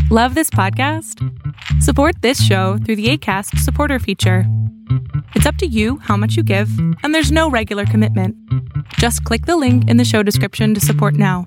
Love this podcast? Support this show through the Acast supporter feature. It's up to you how much you give, and there's no regular commitment. Just click the link in the show description to support now.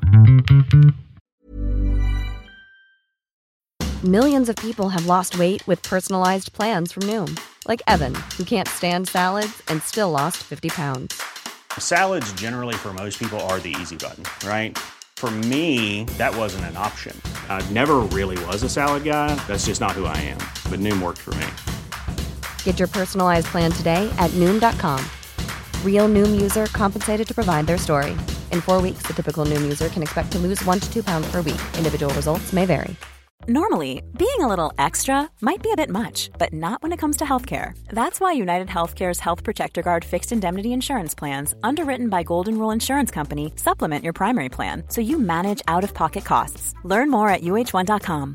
Millions of people have lost weight with personalized plans from Noom. Like Evan, who can't stand salads and still lost 50 pounds. Salads generally for most people are the easy button, right? For me, that wasn't an option. I never really was a salad guy. That's just not who I am. But Noom worked for me. Get your personalized plan today at Noom.com. Real Noom user compensated to provide their story. In 4 weeks, the typical Noom user can expect to lose 1 to 2 pounds per week. Individual results may vary. Normally, being a little extra might be a bit much, but not when it comes to healthcare. That's why United Healthcare's Health Protector Guard fixed indemnity insurance plans, underwritten by Golden Rule Insurance Company, supplement your primary plan so you manage out-of-pocket costs. Learn more at uh1.com.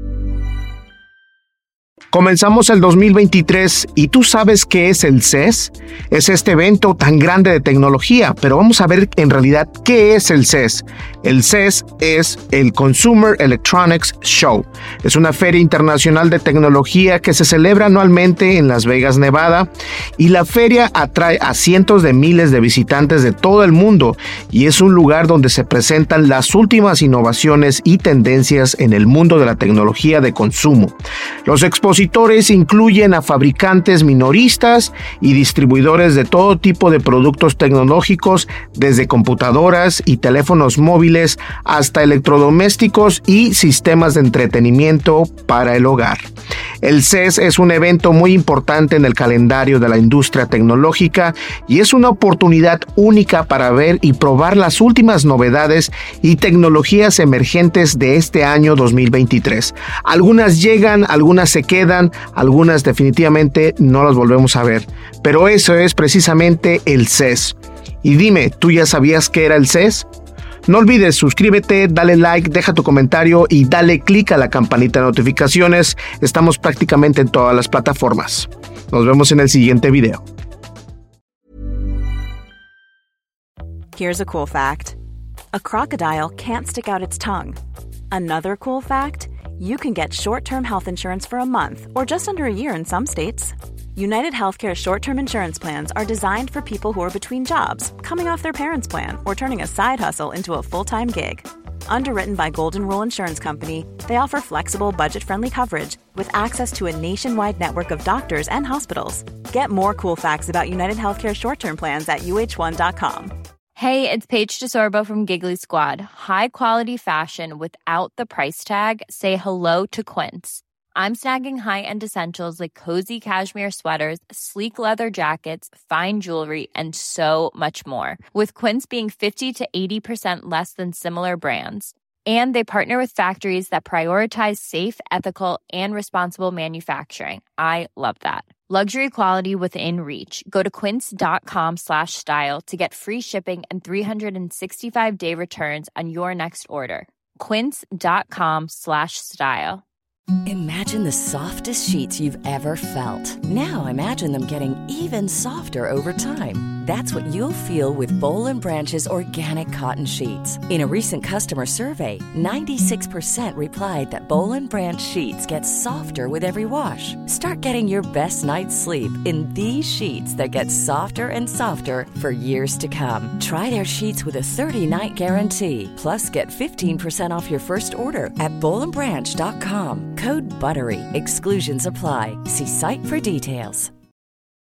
Comenzamos el 2023 y ¿tú sabes qué es el CES? Es este evento tan grande de tecnología, pero vamos a ver en realidad qué es el CES. El CES es el Consumer Electronics Show. Es una feria internacional de tecnología que se celebra anualmente en Las Vegas, Nevada, y la feria atrae a cientos de miles de visitantes de todo el mundo y es un lugar donde se presentan las últimas innovaciones y tendencias en el mundo de la tecnología de consumo. Los expositores incluyen a fabricantes minoristas y distribuidores de todo tipo de productos tecnológicos, desde computadoras y teléfonos móviles hasta electrodomésticos y sistemas de entretenimiento para el hogar. El CES es un evento muy importante en el calendario de la industria tecnológica y es una oportunidad única para ver y probar las últimas novedades y tecnologías emergentes de este año 2023. Algunas llegan, algunas se quedan, algunas definitivamente no las volvemos a ver, pero eso es precisamente el CES. Y dime, ¿tú ya sabías qué era el CES? No olvides suscríbete, dale like, deja tu comentario y dale click a la campanita de notificaciones. Estamos prácticamente en todas las plataformas. Nos vemos en el siguiente video. Here's a cool fact. A crocodile can't stick out its tongue. Another cool fact, you can get short-term health insurance for a month or just under a year in some states. United Healthcare short-term insurance plans are designed for people who are between jobs, coming off their parents' plan, or turning a side hustle into a full-time gig. Underwritten by Golden Rule Insurance Company, they offer flexible, budget-friendly coverage with access to a nationwide network of doctors and hospitals. Get more cool facts about United Healthcare short-term plans at uh1.com. Hey, it's Paige DeSorbo from Giggly Squad. High quality fashion without the price tag. Say hello to Quince. I'm snagging high-end essentials like cozy cashmere sweaters, sleek leather jackets, fine jewelry, and so much more. With Quince being 50 to 80% less than similar brands. And they partner with factories that prioritize safe, ethical, and responsible manufacturing. I love that. Luxury quality within reach. Go to quince.com/style to get free shipping and 365-day returns on your next order. Quince.com/style. Imagine the softest sheets you've ever felt. Now imagine them getting even softer over time. That's what you'll feel with Boll & Branch's organic cotton sheets. In a recent customer survey, 96% replied that Boll & Branch sheets get softer with every wash. Start getting your best night's sleep in these sheets that get softer and softer for years to come. Try their sheets with a 30-night guarantee. Plus, get 15% off your first order at bollandbranch.com. Code BUTTERY. Exclusions apply. See site for details.